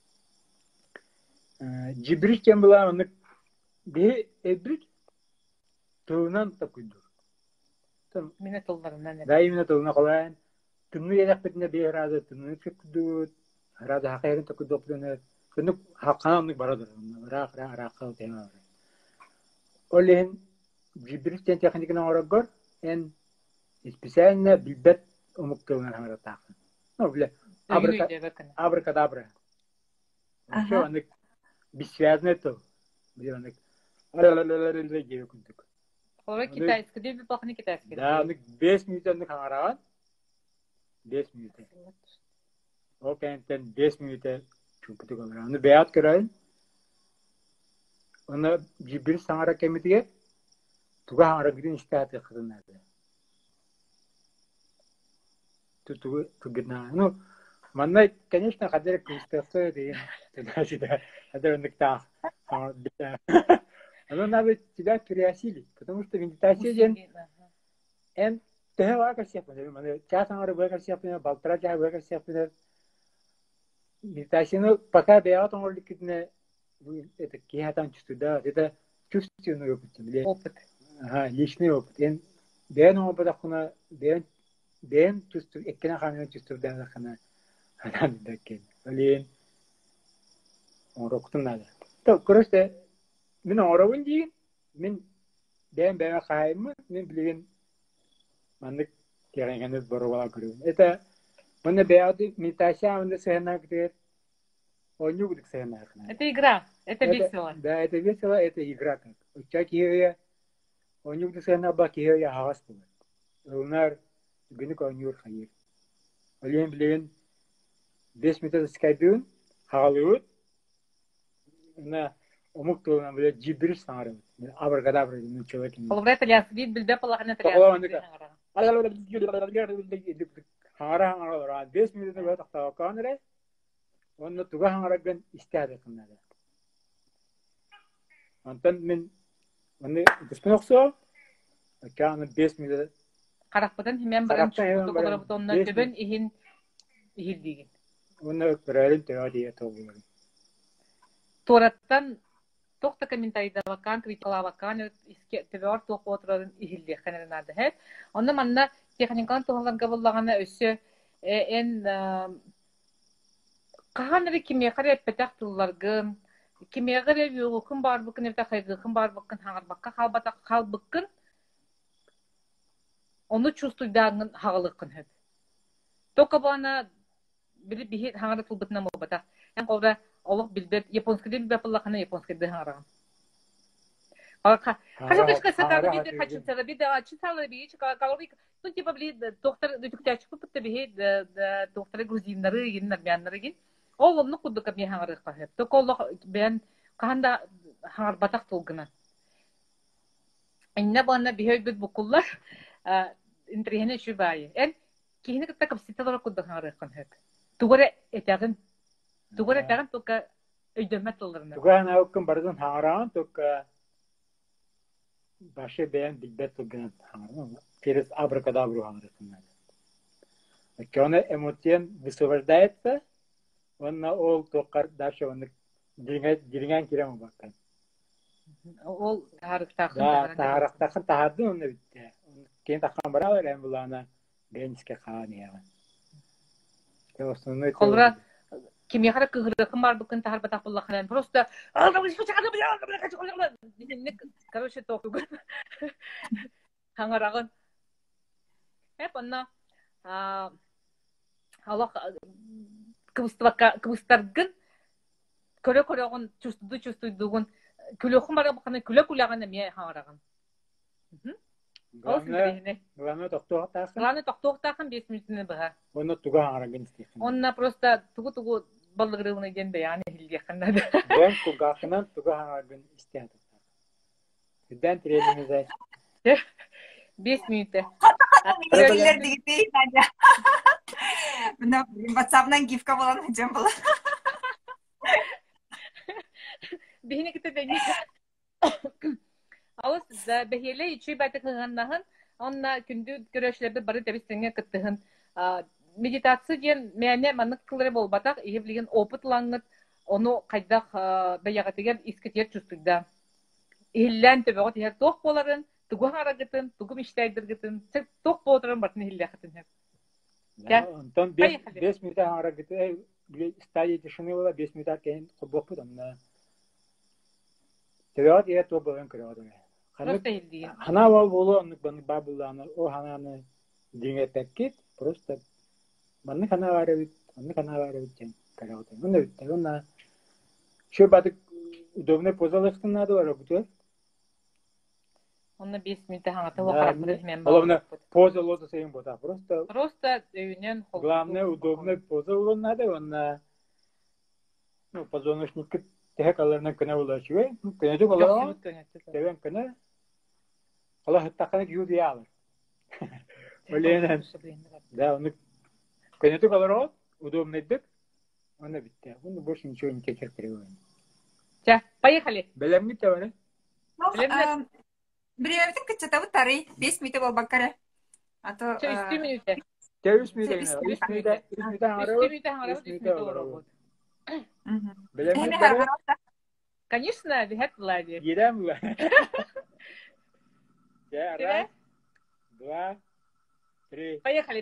S3: Жибристен была он бе эбрит туынан такуйду.
S2: Мине толларынан.
S3: Да, именно толна қалайын. Тымны едақ бетіне бе разы, тымны чекуду, разы хақайрын такуйду оплюнет. Көнүк хаканамдык барадыр. Рак тема. Олен жибристен техниканы орогор эн специально билбет умуктуна харата. Ну, бля. Абракадабра. Всё, они бессвязны то. Бля, они
S2: Ora китайский, деп бакны китайский.
S3: Да, они 5 минуттан хараган. 5 минут. Окей, 5 минут. Чупты камера. Аны бәят көрәйін. Аны жибір саңара кәмітіге туға аңара гидin iştahati қырынады. Туғы гидна. Ну, манна, конечно, қадыр күстасы дейін. Қадыр үндіктен. Но надо тебя переосилить, потому что медитация ден эн тәһә вакыт сепне. Час аңара вакыт сепне, балтыра жа вакыт сепне. Медитацияны пока бәят оңырлыкны это кеһатан чувствуда, это чувственный опыт. Личный опыт. Эн бәян опыт акына бәян чувств, эккене ханын чувствудан акына ханан дакен. Олен оңроктун нада. То, короче, мен оңровун дейін, мен бәян қайымы, мен білген мандык кегенгенде борубала көрүн. Это Мына бәяды медитация мында сәнәк дер. Оню будик сәнәк.
S2: Это игра, это весело.
S3: Да, это весело, это игра как. Учаки оню будик сәнәк ба кие хавас булыр. Onlar günlük oynuyor hayır. Öyle bilen 5 metre skydun halı. Na omuk to'lan böyle cibir sanarım. Abracadabra diye человек.
S2: Полбрата ляс вид билбе палахна таган.
S3: Хара 5 минут böyle taqta kanere. Onu tuga hangargan istedi kınada. Ondan men onu düşünüyorsa kan 5 minut
S2: Каракпытын hemen баран чукуту колорбут онна төбөн иһин иһилдигин.
S3: Уны көрәлен тәвәдия тоғылыр.
S2: Тураттан тохта комментарийда вакан, критикала вакан, иске төбөр тоқ отырын иһилди ханарнады хет. Онна манна техникан тоғланга буллагана өссө эн каханыры кимия карап петактылларгын, кимия карап югукын барбыкын эта хайгыкын барбыкын хаңарбакка халбыкын onu чувствуйдагын хагалыкын хеп. Тока бана били бихит хаңара тулбытна мобата. Эн колда олук билбет японский дил бапыллахана японский дил хаңараган. Хажабышка сатары биде хачынсала биде ачынсала бич калорик ну типа били доктор дүтүктәчү путта бихит доктор грузиннары ген армяннары ген. Ол онны кудука би хаңарыкка хеп. Тока олук бен канда хаңар батак тулгына. Инне бана бихет букуллар интригене шубай. Эн кихне кытта капситалар кудда хаңарыккан хеп. Тугары этягын тока өйдөмөт олорна.
S3: Тугана оккын бардын хаңараган тока башы бәян билбет туган хаңараган. Через абракадабру хаңарыккан. Кёне эмоцион высвобождается, он ол токар дальше он дириган кирем баккан.
S2: Ол тарыктакын
S3: тахады оны битте. Кен такан баралар эм булана гениске хания.
S2: Колра кимия хара кыгырыкын барбыкын тахар батак буллахан просто короче токуг хаңарагын хеп анна Аллах кыбыстаргын көрө-көрөгөн чувствуйдугун күлөкүн бара баканы күлө-күлөгөн эме хаңараган.
S3: Главное
S2: токтоктакын 5 минутны бага.
S3: Оны туга хаңараган истейт.
S2: Онна просто тугу балыгырыгына ден баяны хилдеканнады.
S3: Бен тугакынан туга хаңараган истейт. Биден тренинге
S2: 5 минутта.
S1: Milyoner değil bence. Buna WhatsApp'dan gifka falan hocam bulan.
S2: Bihine kitte deni. Алыс да бехеле ичи байтыкыганнахын, онна күндү көрөшлөрдө бары дебистеңе кыттыгын. Медитация ден мәне манык кылыры болбатак, иһиблеген опытлаңыт, ону кайдак баягатыгер искетер чувствуйда. Иһиллән төбөгө тиһер тох боларын, тугу харагытын, тугу миштайдыргытын, тох боларын бартын иһилләхытын хеп.
S3: Антон 5 минут харагыты, стадия тишины была 5 минут кейін кубоп да. Төбөгө тиһер тох боларын көрөдө. Хана болу бабуланы, о хананы диңе пеккит, просто манны хана варыбыт жен көрөдө. Мына битте, мына şu batık удобный позалыктын надо бар буту.
S2: Онна 5 минут хаңата вакытында мен бар.
S3: Главное поза лоза сейм бота.
S2: Просто өйнен хол.
S3: Главное удобный поза улон надо, он ну позвоночник техкаларына көне булачы. Ну көне булар. Тевен көне. Аллах тақаны юди алыр. Оленен. Да, он көне булар, удобный деп. Она битте. Он больше ничего не кечертерет.
S2: Ча, поехали.
S3: Белемни теване.
S1: Билемнин кычытабы тарый 5 минут бол баккара. А то
S2: 3 минута.
S3: 3 минут. Белемни теване.
S2: Конечно, бихет влади.
S3: Едем. Я раз, два, три.
S2: Поехали.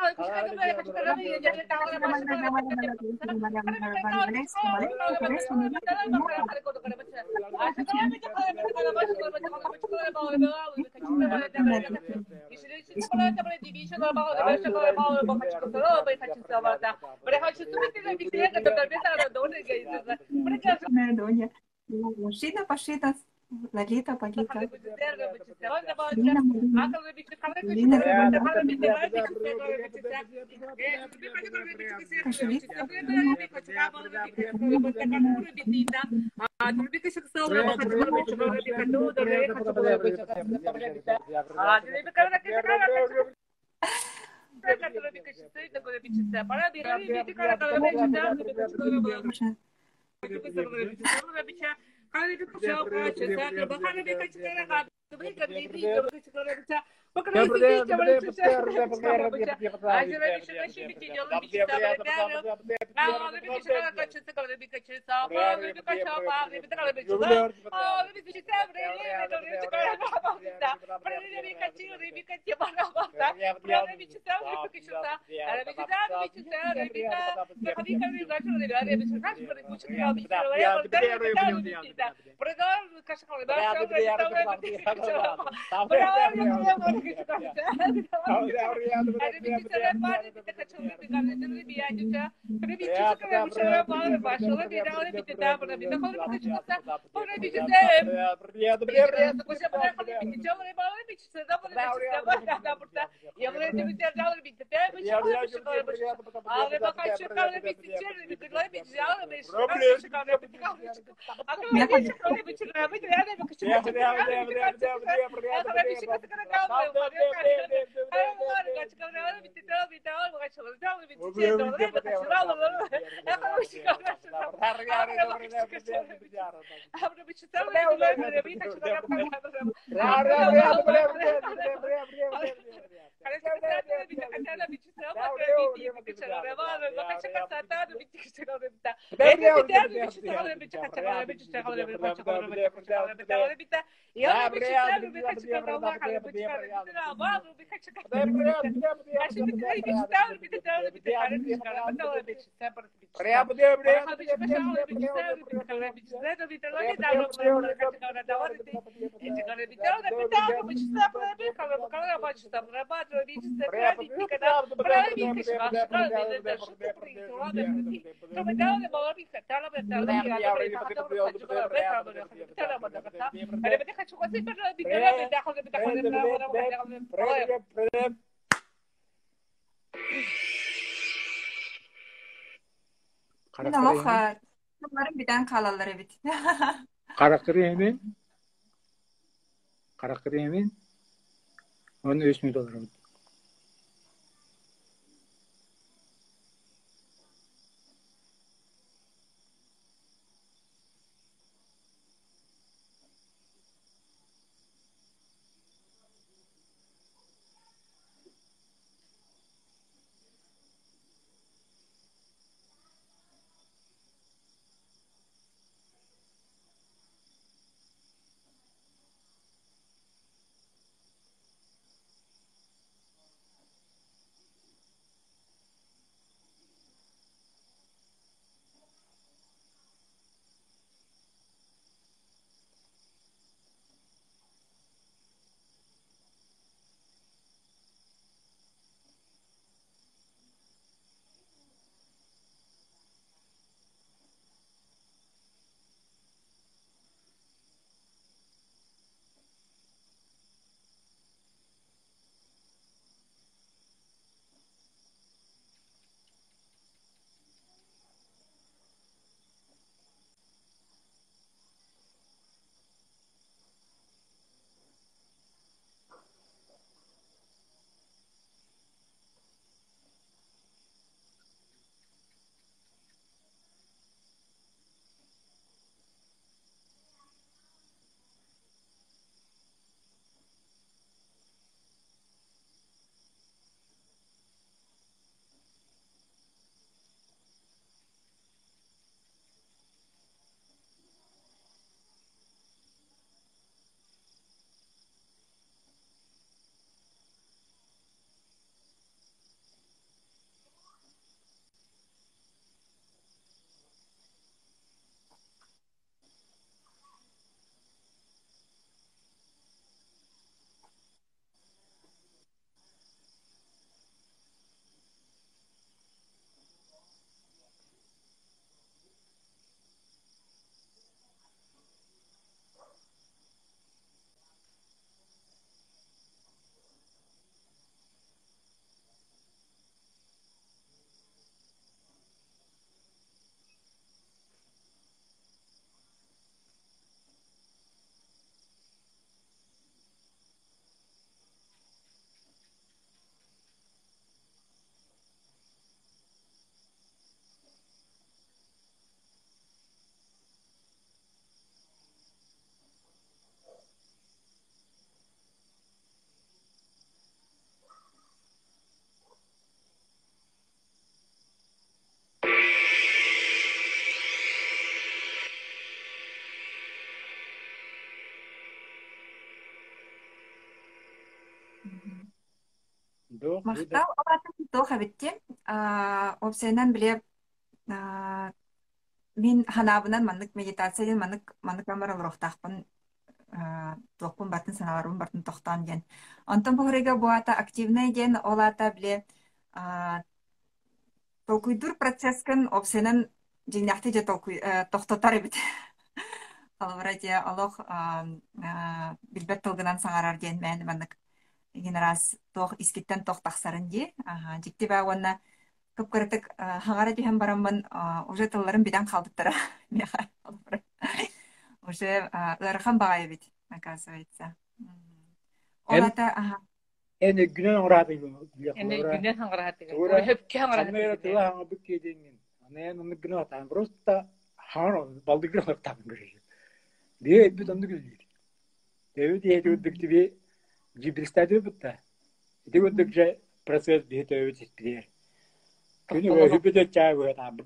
S1: Шина пошита. Лолита, Пагита.
S2: Kalau itu siapa? Saya bahkan lebih kecil
S1: Noha, umarım birden kalaları bit.
S3: Karakter yemin, onu $3.000. Дох, буда.
S1: Мақтал олатын тоқ әбітте. Опсайнан біле мен ханабынан маннык медитацияден маннык амар олорохтақпын тоқпын батын саналарым батын тоқтан ден. Онтон бұғырыға буата активный ден олата біле толкуйдур процесскін опсайнан жиняқты же тоқтотар әбіт. Алварадия олох билбет тылгынан саңарар ден мәні маннык генерас тоқ искиттен тоқ тақсарын де. Жикті бә онна көп көрітік хаңара дейін барамын уже тылларын биден қалдыптыра. Уже ырхан бағай бит, оказывается. Олата,
S3: Эне günün orada
S2: Эне günен хаңарахаты.
S3: Тура,
S2: Хөпке
S3: Камера
S2: хаңарахаты.
S3: тыла хаңа бүк кейденген. Ана оны günü atan. Просто хаңа балды günü atan görüyor. Diye bir döndü gülüyor. Diye diye gördük gibi cibilistedi bu da. Diye gördükçe proses bir de öyle bir. Günü böyle bir de çay böyle tam.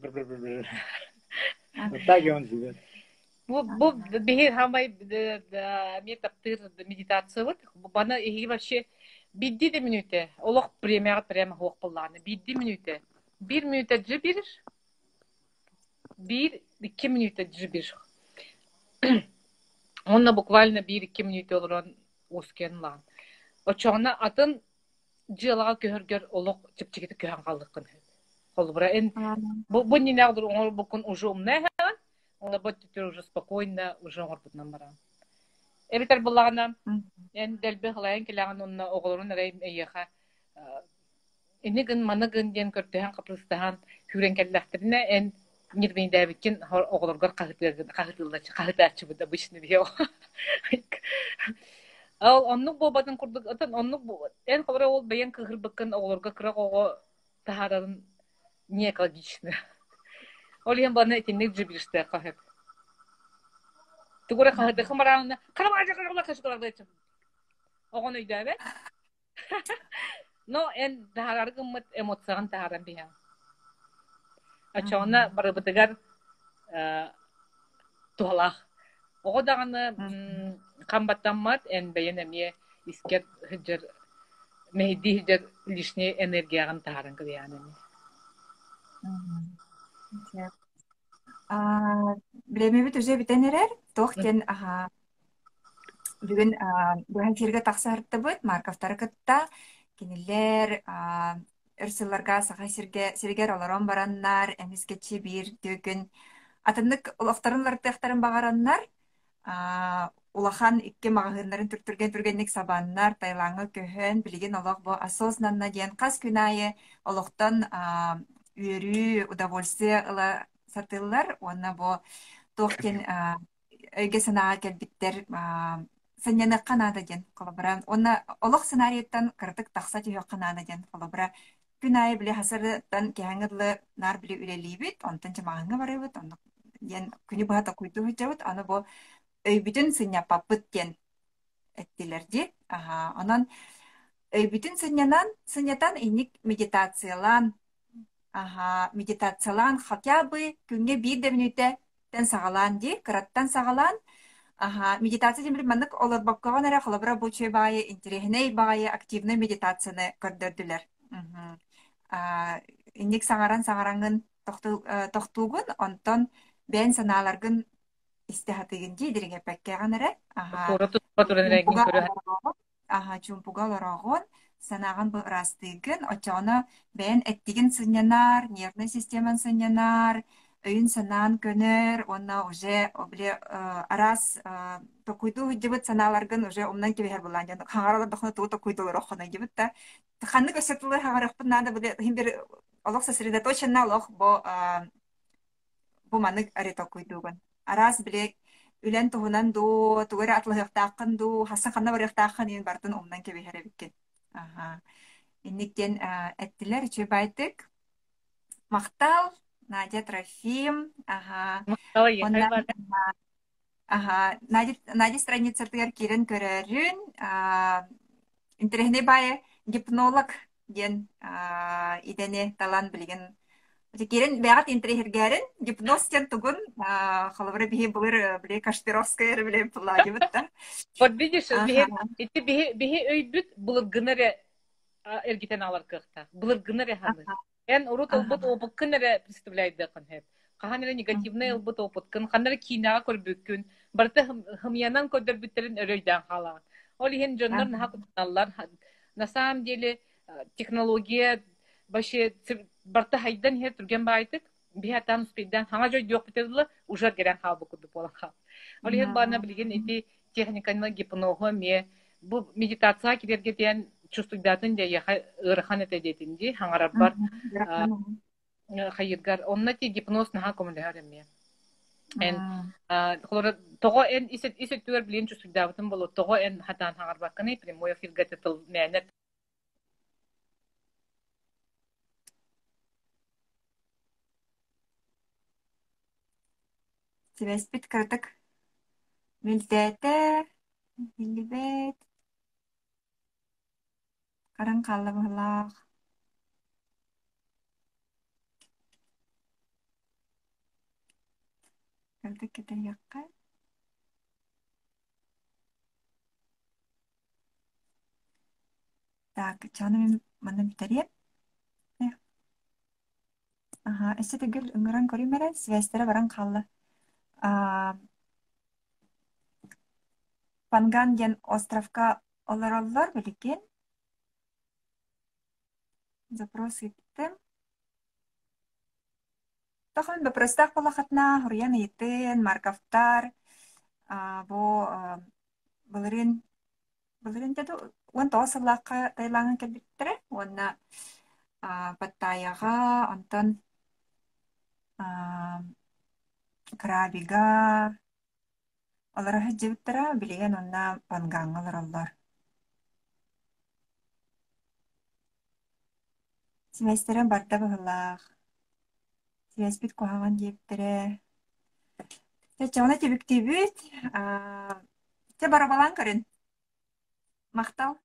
S3: Hatta gönderiyor.
S2: Bu bihir hamay метаптыр медитация вот. Бана и вообще бидди де минуте. Олох прямо хоқ булланы. Бидди минуте. 1 минута жибириш. 1-2 минута жибириш. Онна буквально 1-2 минута олорон ускен лан. Очоңна атын жылага көргөр олох чипчикити көһөн калдыкын. Холбура эн бу не нагдыр оңор букун уже умна. Он работает уже спокойно, уже горбут намара. Эбитер буллагана, эн делбе хлайн килаган онна оголорун рейм эйха. Энеген манагын ден көртөһөн капрыстахан хүрен келлахтерне эн нирбин дабикин оголоргор кахытылачы буда бишни био. Ал оннук бобатын курдук атын оннук эн хабара ол баян кыгырбыккын оголорго кырак ого тахарарын не экологично. Олиен бана этинник жибириште кахып. Тугура кахыты хымараны карамажа карагла кашкаларды этим. Огон үйдәбе. Но эн тахараргы мыт эмоциян тахаран бия. Ачона барыбытыгар туалах. Огодаганы камбаттаммат эн бәйен эмие искер хыжыр мехди хыжыр лишний энергиягын тахаран кыбияны.
S1: Білемебіт уже бітенерер, тоқтен бүгін бұған керге тақсарытты бұд, Марковтары күтті, кенелер, үрсілларға саға сергер оларон бараннар, әмізгетші бір дөгін. Атымдық ұлақтарын лартықтарын бағараннар, улахан икке мағағынларын түргеннік сабаннар, тайлаңы көхін, білген олақ бұл осознанна дейін қас күнайы олақтан үйрі, удовольствие ұла сатылар, онна бұл тоқтен өйге санаға кәлбіттер сәнені қанады ден қолабыра. Онна олық сценариеттан кірдік тақса түйе қанады ден қолабыра. Күн айы біле хасырдан кәңірлі нар біле үлелейбіт, онтан жамағыңы бары бұд, күні бұғата құйды хүджауыд, оны бұл өйбітін сыня папыт ден әттелерді. Онан өйбітін сынятан инік медитациялан, медитациялан хотя бы күнге 1 минуте тен сағалан де, кыраттан сағалан. Медитация демір маннык олар бапкаған әрі қалабыра бұлчай байы, интерегіней байы, активный медитацияны көрдірділер. Инек саңараңын тоқтуғын, онтон бән саналарғын истихатығын дейдерге пәккеған әрі. Чумпуғал орағын, санаған бұл растығын, очаны бән әттігін сынянар, нервный системан сынянар, өйін санан көнер, онна уже арас токуйду жібіт саналарғын уже омнан кебе бұлан. Хаңаралар доқына туы токуйдулар оқына жібіт та. Ханны көсетілі хаңарықпын нады бір олық сосредоточенна олық бұ манық әрі токуйдуғын. Арас білек үлен туғынан ду, туғыры атлығықтақын ду, хасан қанна барықтақын ең бартын омнан кебе әрі Инніктен әттілер үші байтық. Мақтал, Надя Трофим. Надя страницартығар керін көрерін. Интерегіне байы гипнолог ден идене талан білген Текерен бәгат интерьергәрен гипноз тен тугун халыбыры бихи булыр биле Кашпировская биле пулла дибетта.
S2: Вот видишь,
S1: Аха.
S2: эти бихи өйбүт булыр гынере эргитен алар кыхта. Булыр гынере ханы. Эн урут олбут
S1: Аха.
S2: опыт кынере представляет да кын хеп. Каханере негативный олбут опыт кын, ханере кинага көрбүккүн. Барты хымянан көдөр бүттерин өрөйдөн хала. Ол иһин жоннор наха кутналар. На самом деле технология башы барты хайдан хер турген байтык. Бихатан успейдан хаңа жой диок битерлы уже керен хабы куду болаха. Ол иһин бана билген эти техниканы гипнозы ме бу медитация кирерге ден чувствуйдатын де я ырхан этедетинди хаңарар бар хайыргар онна ти гипноз наха комлеареме эн холора того эн исет түгөр билен чувствуйдатын боло того эн хатан хаңар бакканы прямой эфир гатетл мене
S1: Связь кырдык. Милдәтә, билбет. Каран каллы булак. Кырдык кете якка. Так, чаны мен битәреп. Ага, эссе тегел ыңгыран көрүмәрә, связьтәре баран каллы. Панган ден островка олараллар билген. Запрос иттем. Тахын бопростах балахатна, хурьян итен, марковтар, бу булырын деду, он тоосыллаққа тайлаңын келбеттірі, онна паттаяға, онтон крабига, олары хыджыбыттыра, билеген онна пангаң олараллар. Связьтерен барда бұғылақ. Связь бит куһаҕан диэптэрэ. Тэ чоҕуна тибик тибит. Тэ барабалаан көрүн. Мактал.